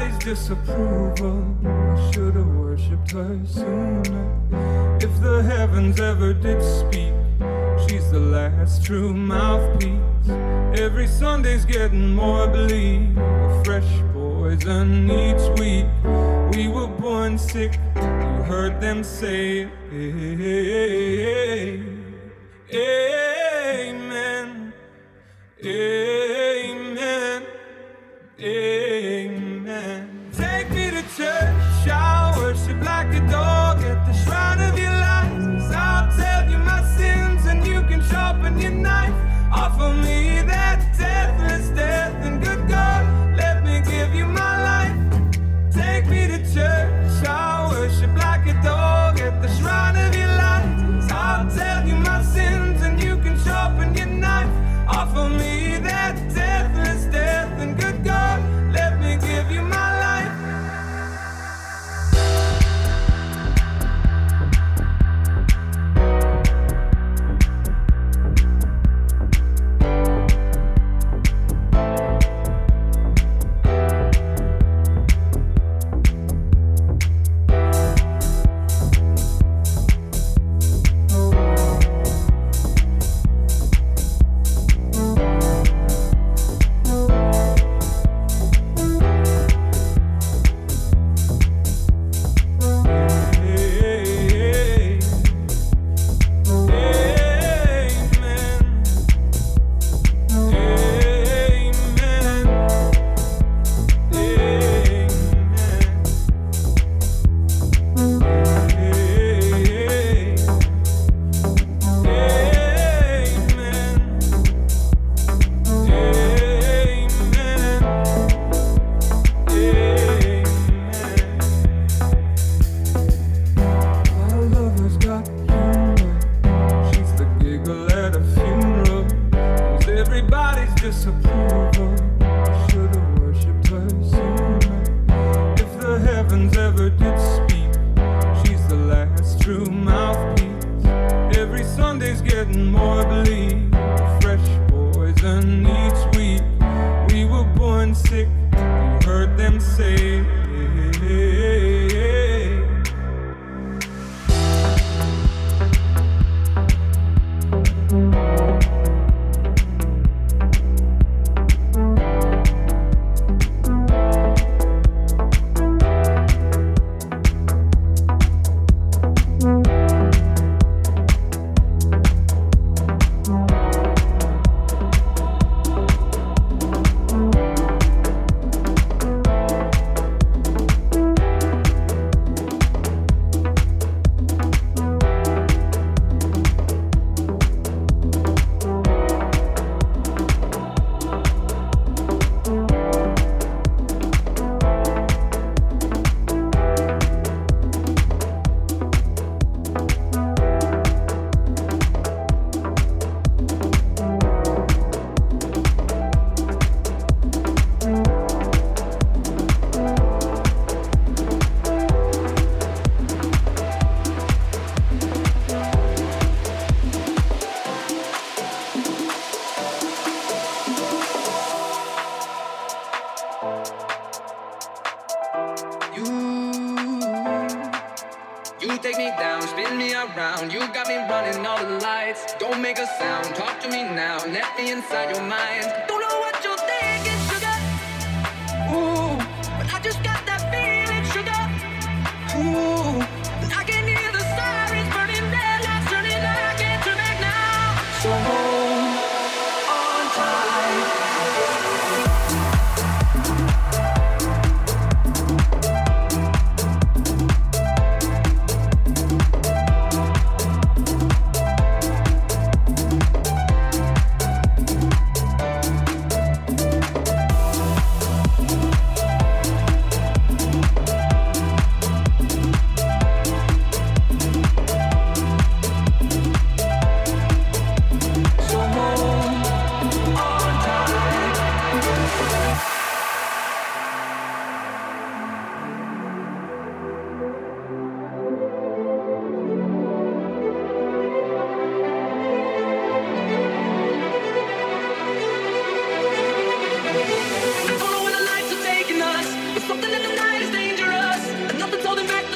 everybody's disapproval. I should have worshipped her sooner. If the heavens ever did speak, she's the last true mouthpiece. Every Sunday's getting more bleak, a fresh poison each week. We were born sick, you heard them say, amen, amen, amen. Take me to church, I'll worship like a dog at the shrine of your life. I'll tell you my sins and you can sharpen your knife. Offer me that deathless death, and good God, let me give you my life. Take me to church, I'll worship like a dog at the shrine of your life. I'll tell you my sins and you can sharpen your knife. Offer me that deathless death, and good God, let me give you my life.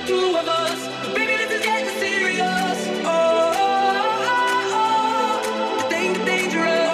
two of us. Baby, this is getting serious. Oh, oh, oh, oh. The thing is dangerous.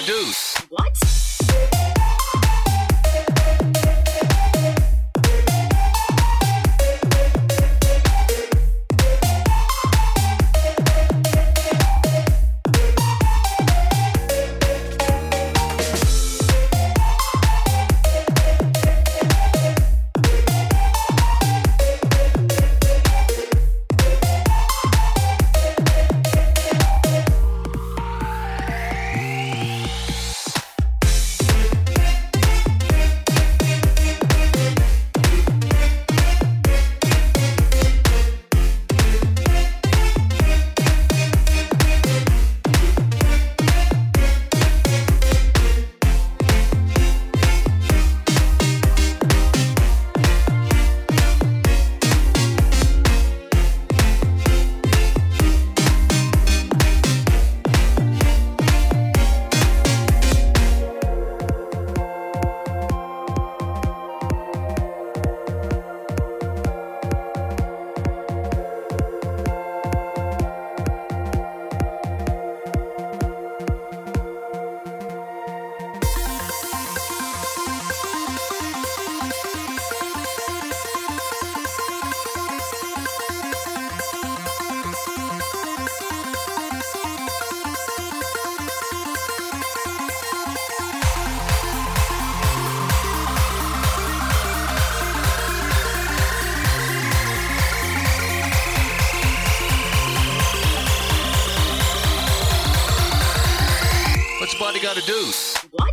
do? What? What's body gotta do? What?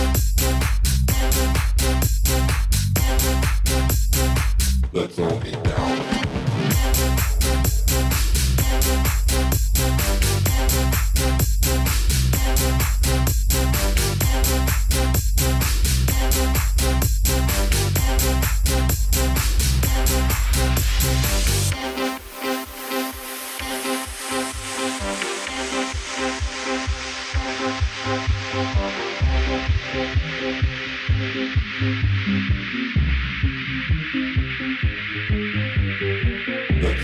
Let's all get down.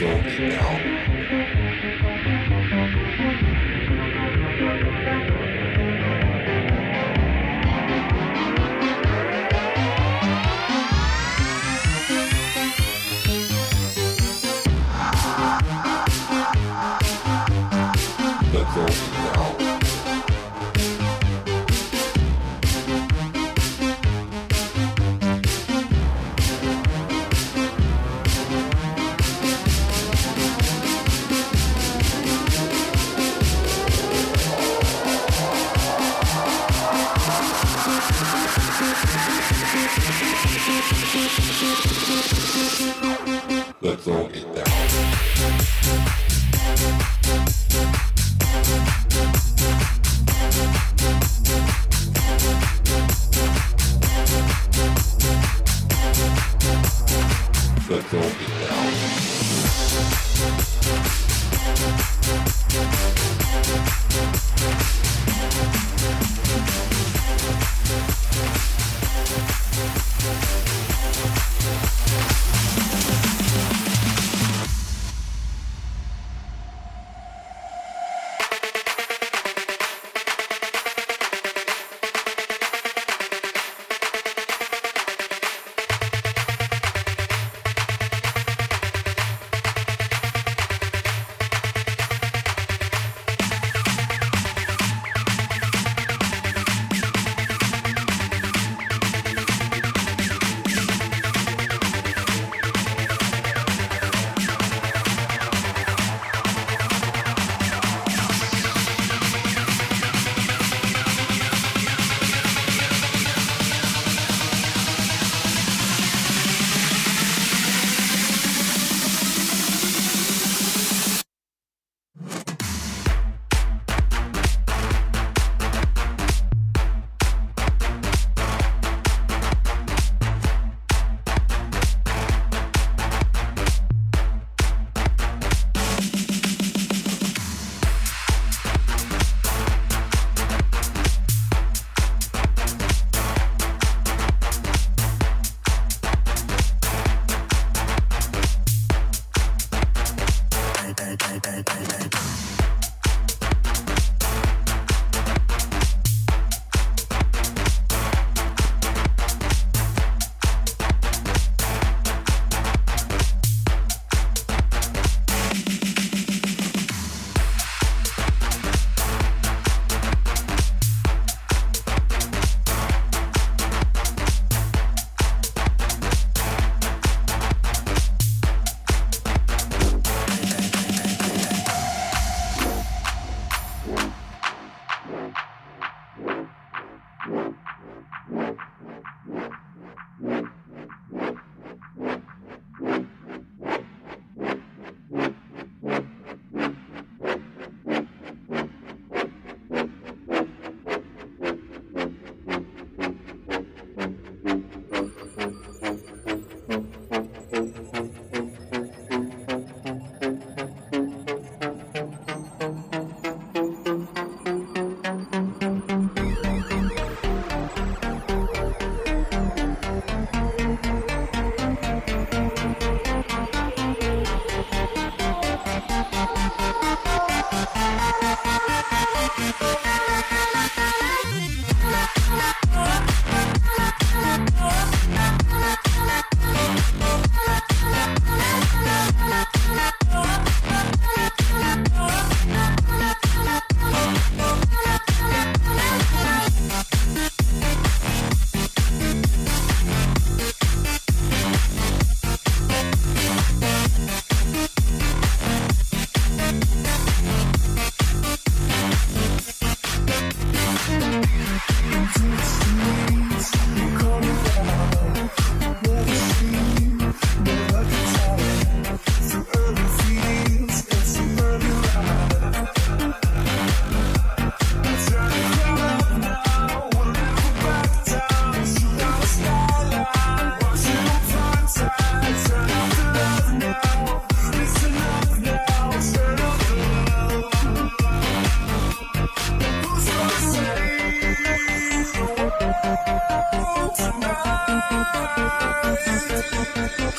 Let's all get down. Let's all get down.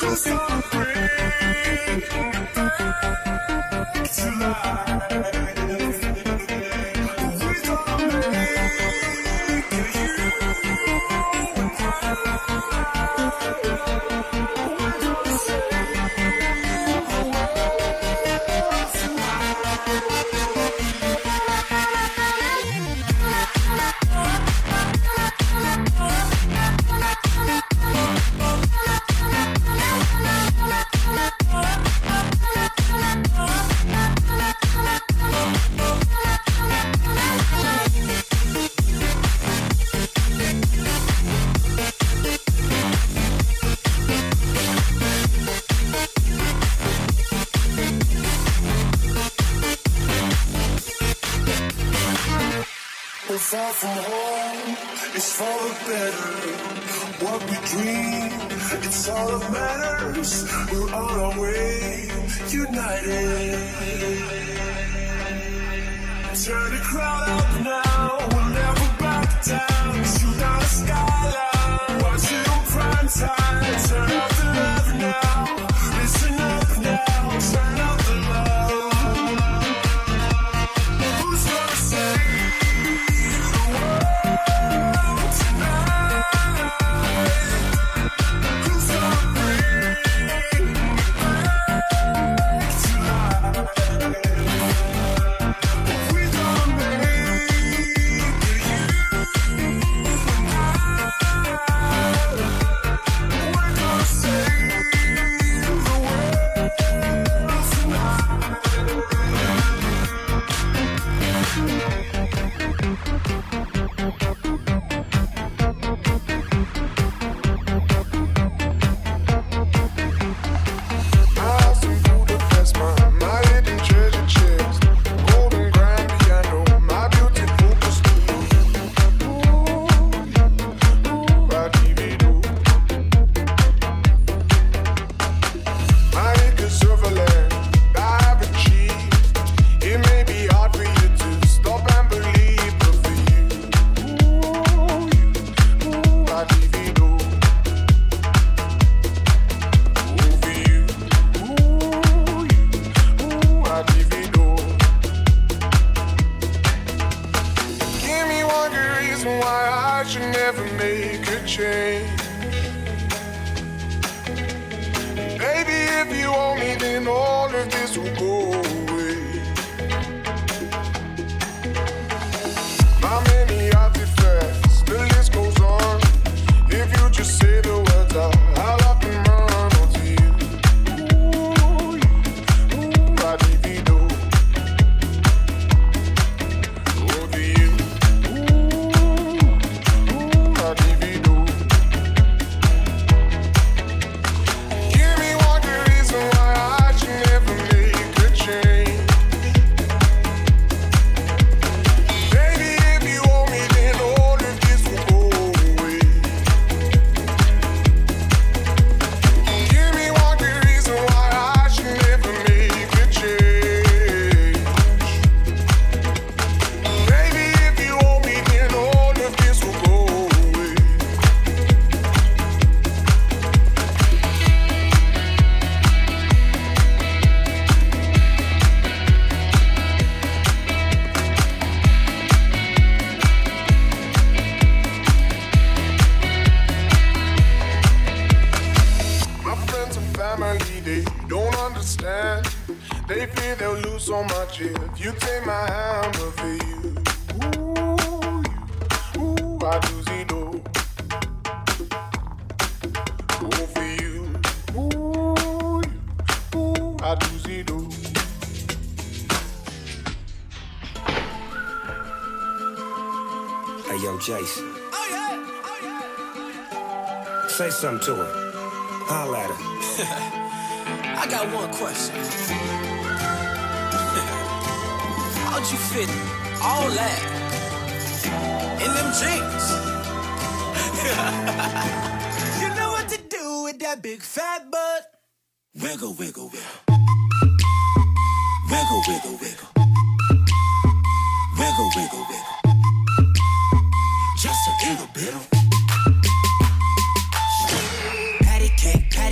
Far from home, it's for the better. What we dream, it's all that matters. We're on our way, united. Turn the crowd up now, we'll never back down. Shoot down the skyline, watch it on prime time. Turn up the love now, listen up now. Turn up the love. Who's gonna say? Jason. Say something to her. Holla at her. I got one question. How'd you fit all that in them jeans? You know what to do with that big fat butt. Wiggle, wiggle, wiggle. Wiggle, wiggle, wiggle. Wiggle, wiggle, wiggle. Just a little bit of patty cake,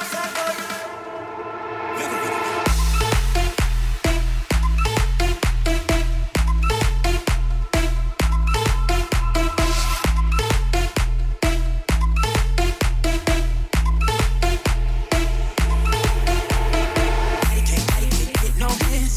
No hands.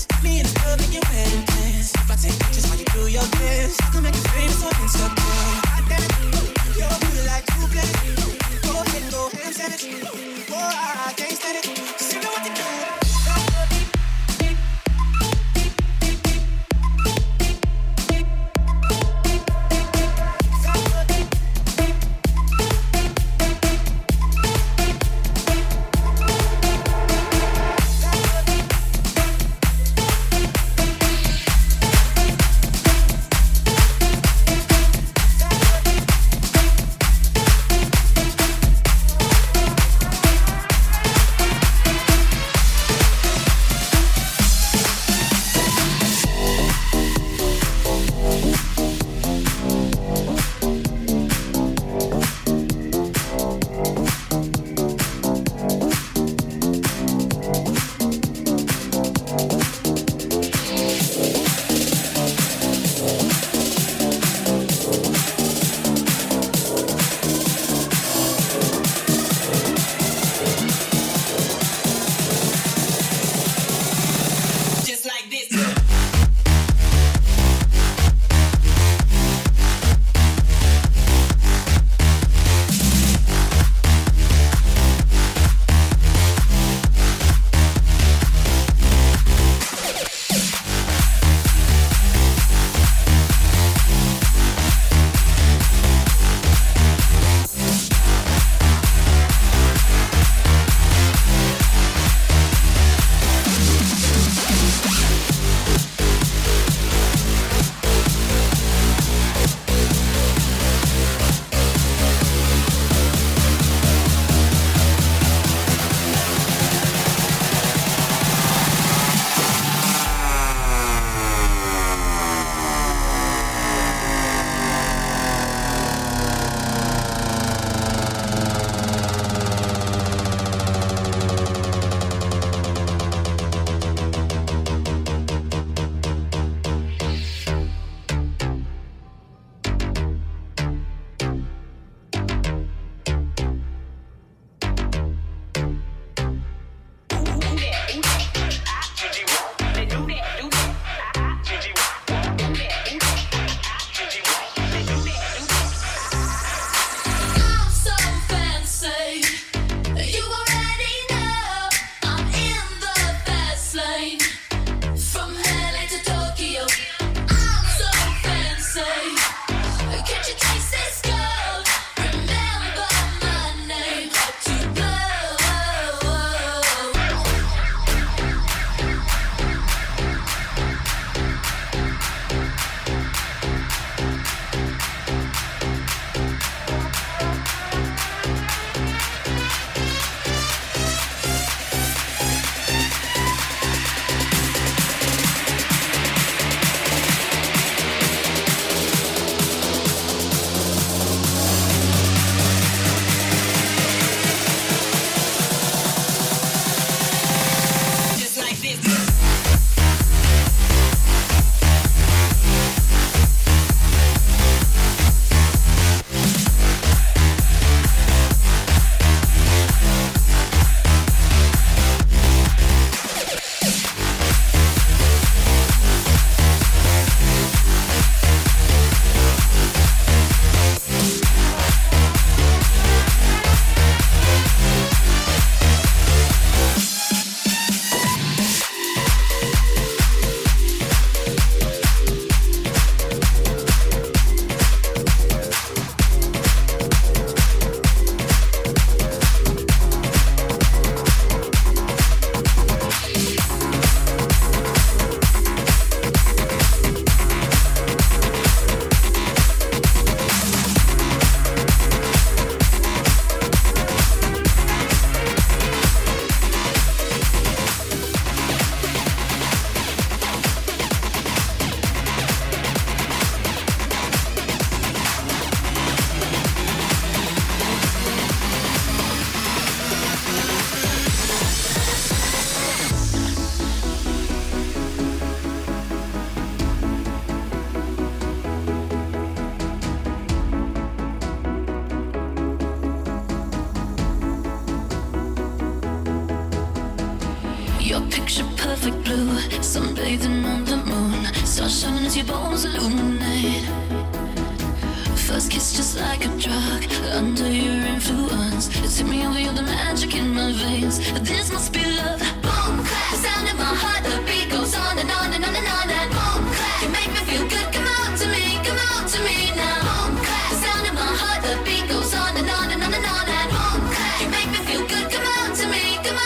perfect blue, sunbathing on the moon, stars shining as your bones illuminate. First kiss just like a drug, under your influence. It's hit me over, you're the magic in my veins. This must be love. Boom, clap, the sound in my heart, the beat goes on and on and on and on. And boom, clap, you make me feel good. Come on to me now. Boom, clap, the sound in my heart, the beat goes on and on and on and on. And boom, clap, you make me feel good. Come on to me now.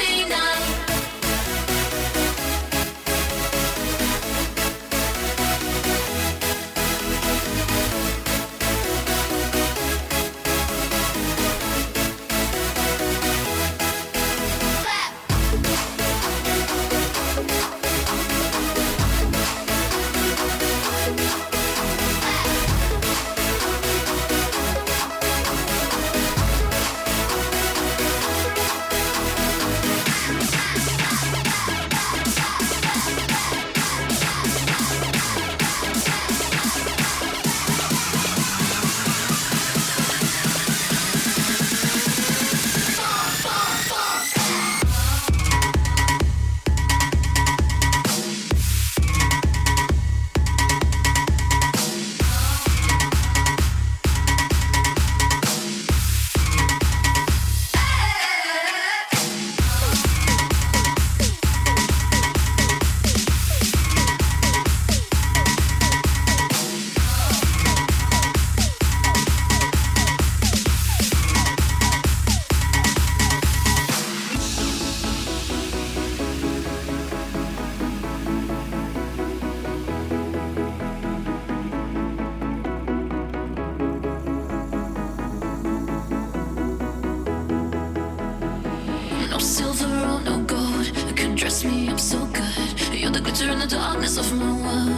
Of my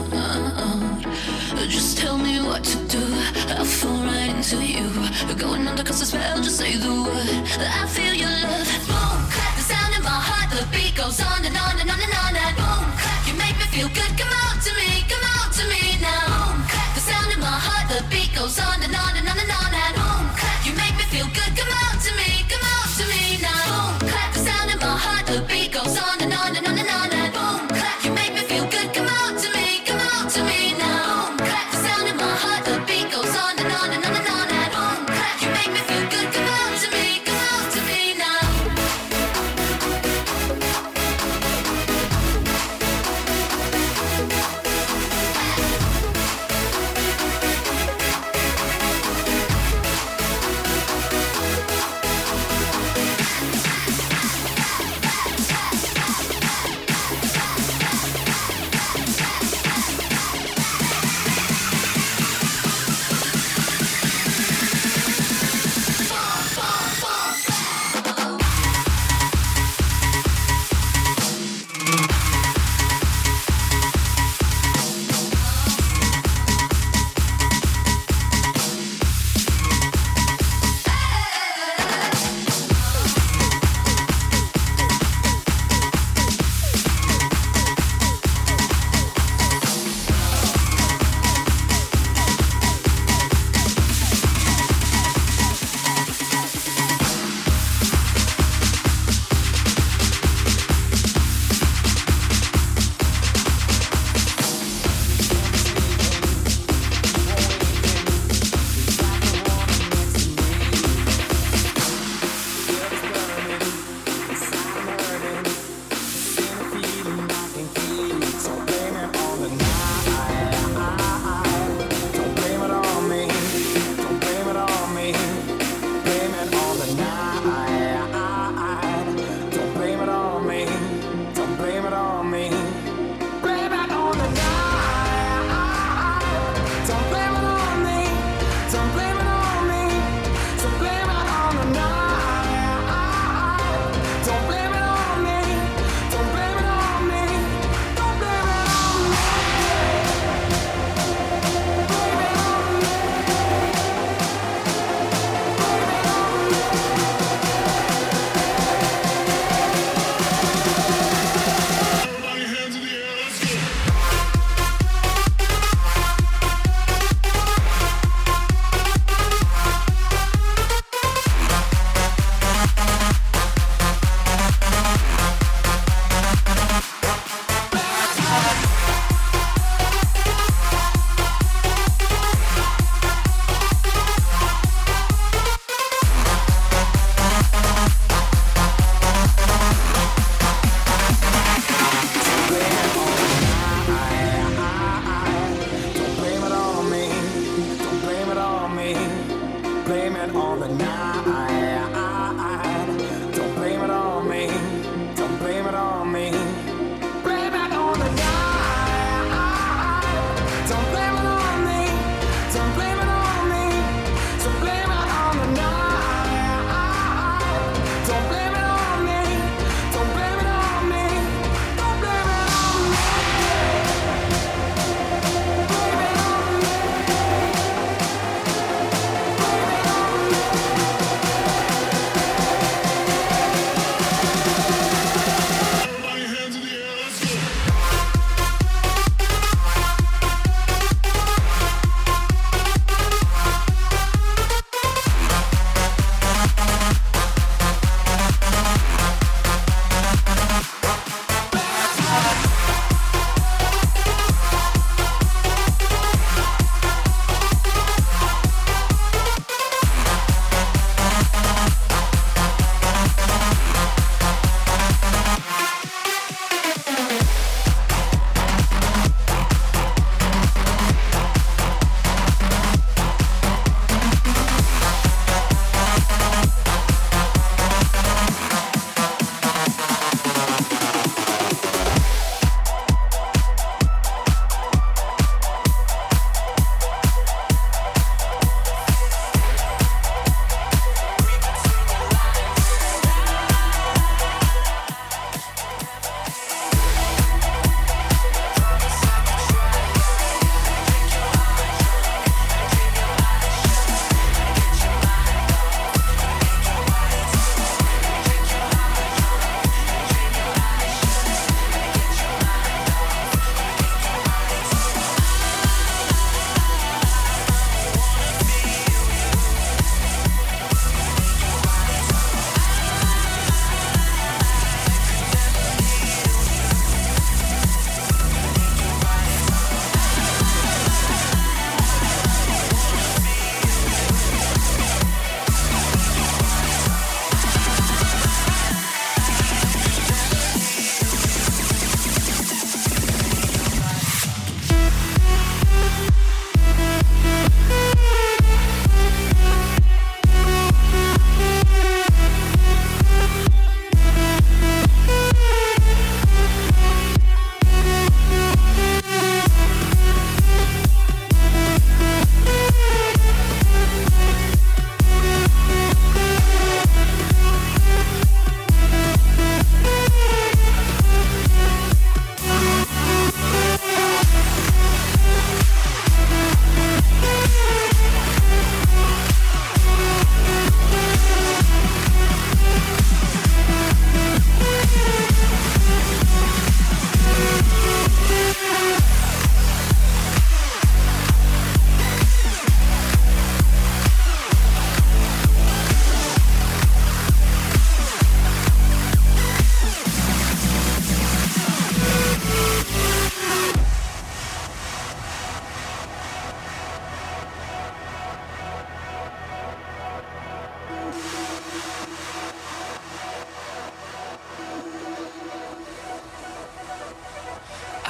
world, just tell me what to do. I'll fall right into you. Going under 'cause I spell, just say the word. I feel your love. Boom, clap, the sound in my heart, the beat goes on and on and on and on. And boom, clap, you make me feel good. Come on to me now. Boom, clap, the sound in my heart, the beat goes on and on and on and on. And boom, clap, you make me feel good. Come on to me now. Boom, clap, the sound in my heart, the beat goes on and on and on and on. And boom, clap, you make me feel good. Come on to me now. Boom, clap, the sound in my heart, the beat goes on and on and on and on. And boom, clap, you make me feel good. Come on to me now.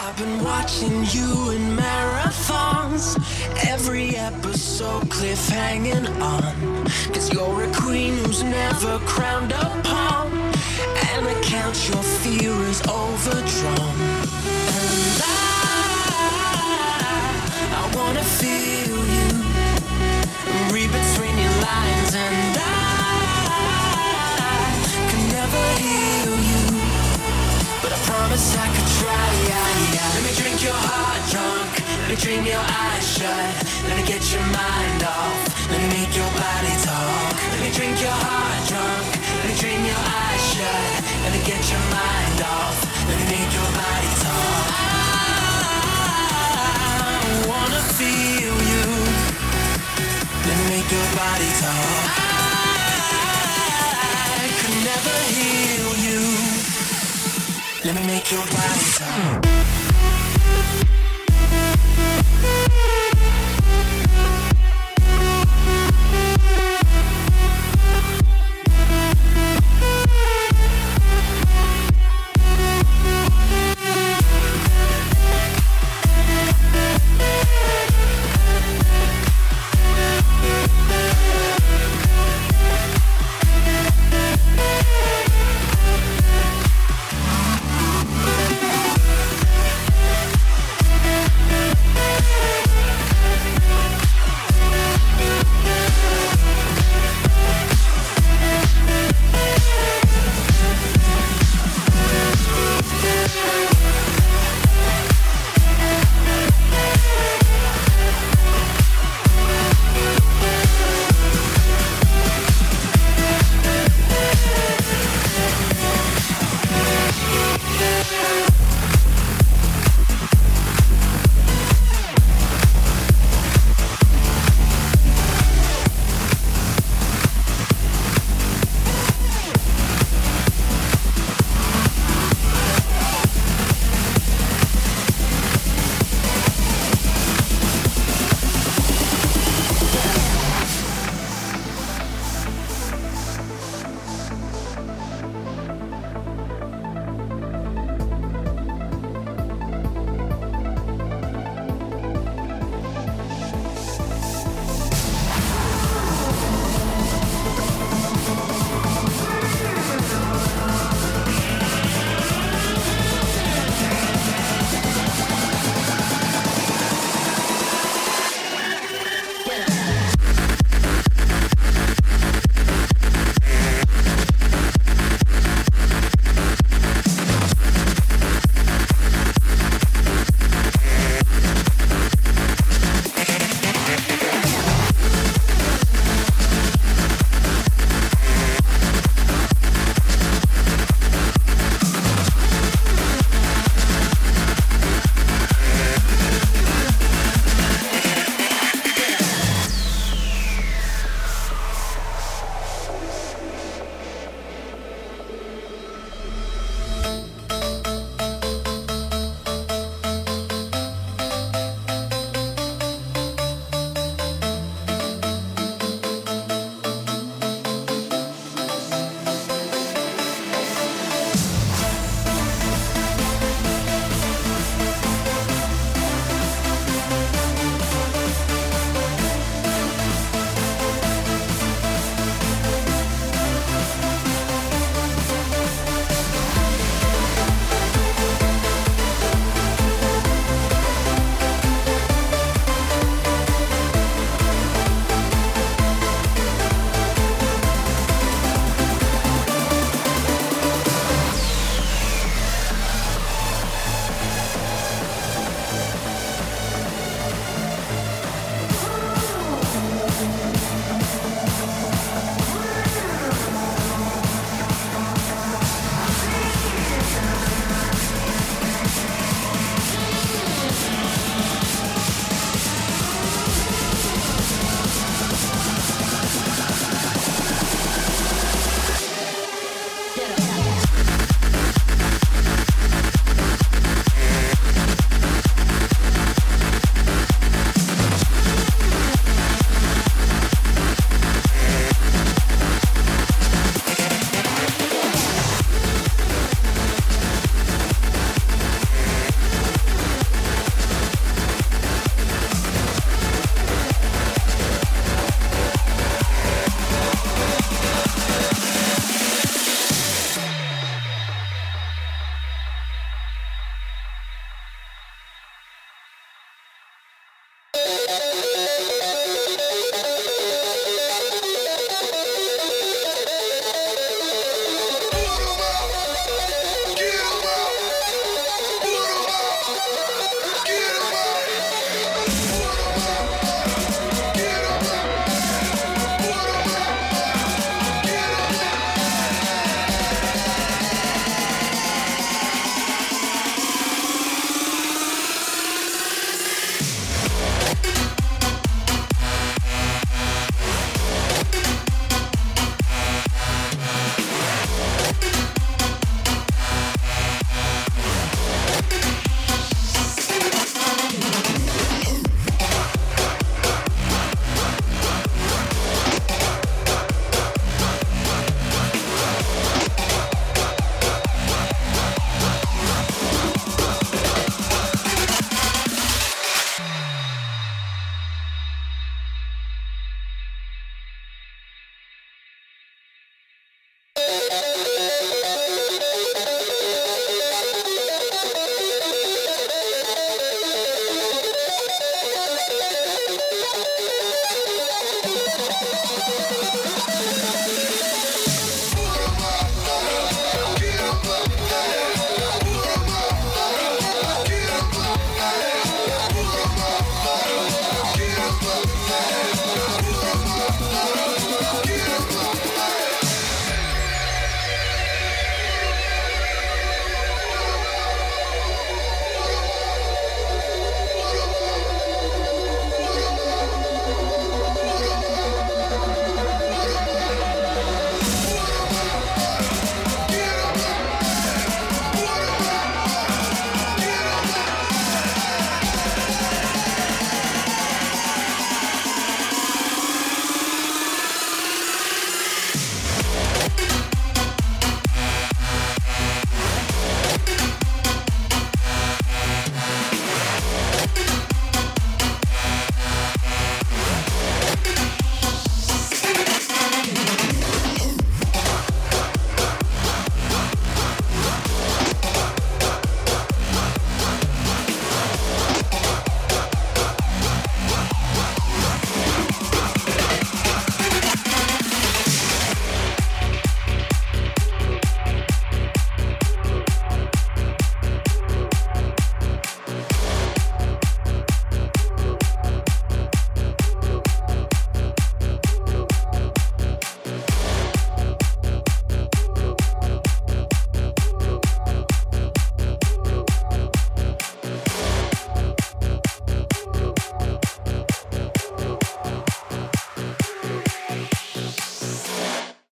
I've been watching you in marathons, every episode cliffhanging on, 'cause you're a queen who's never crowned upon, and I count your fear is overdrawn. And I wanna feel you, read between your lines, and I can never heal you, but I promise I could try. Let me drink your heart drunk, let me dream your eyes shut, let me get your mind off, let me make your body talk. Let me drink your heart drunk, let me dream your eyes shut, let me get your mind off, let me make your body talk. I wanna feel you, let me make your body talk. I could never heal you, let me make your body talk.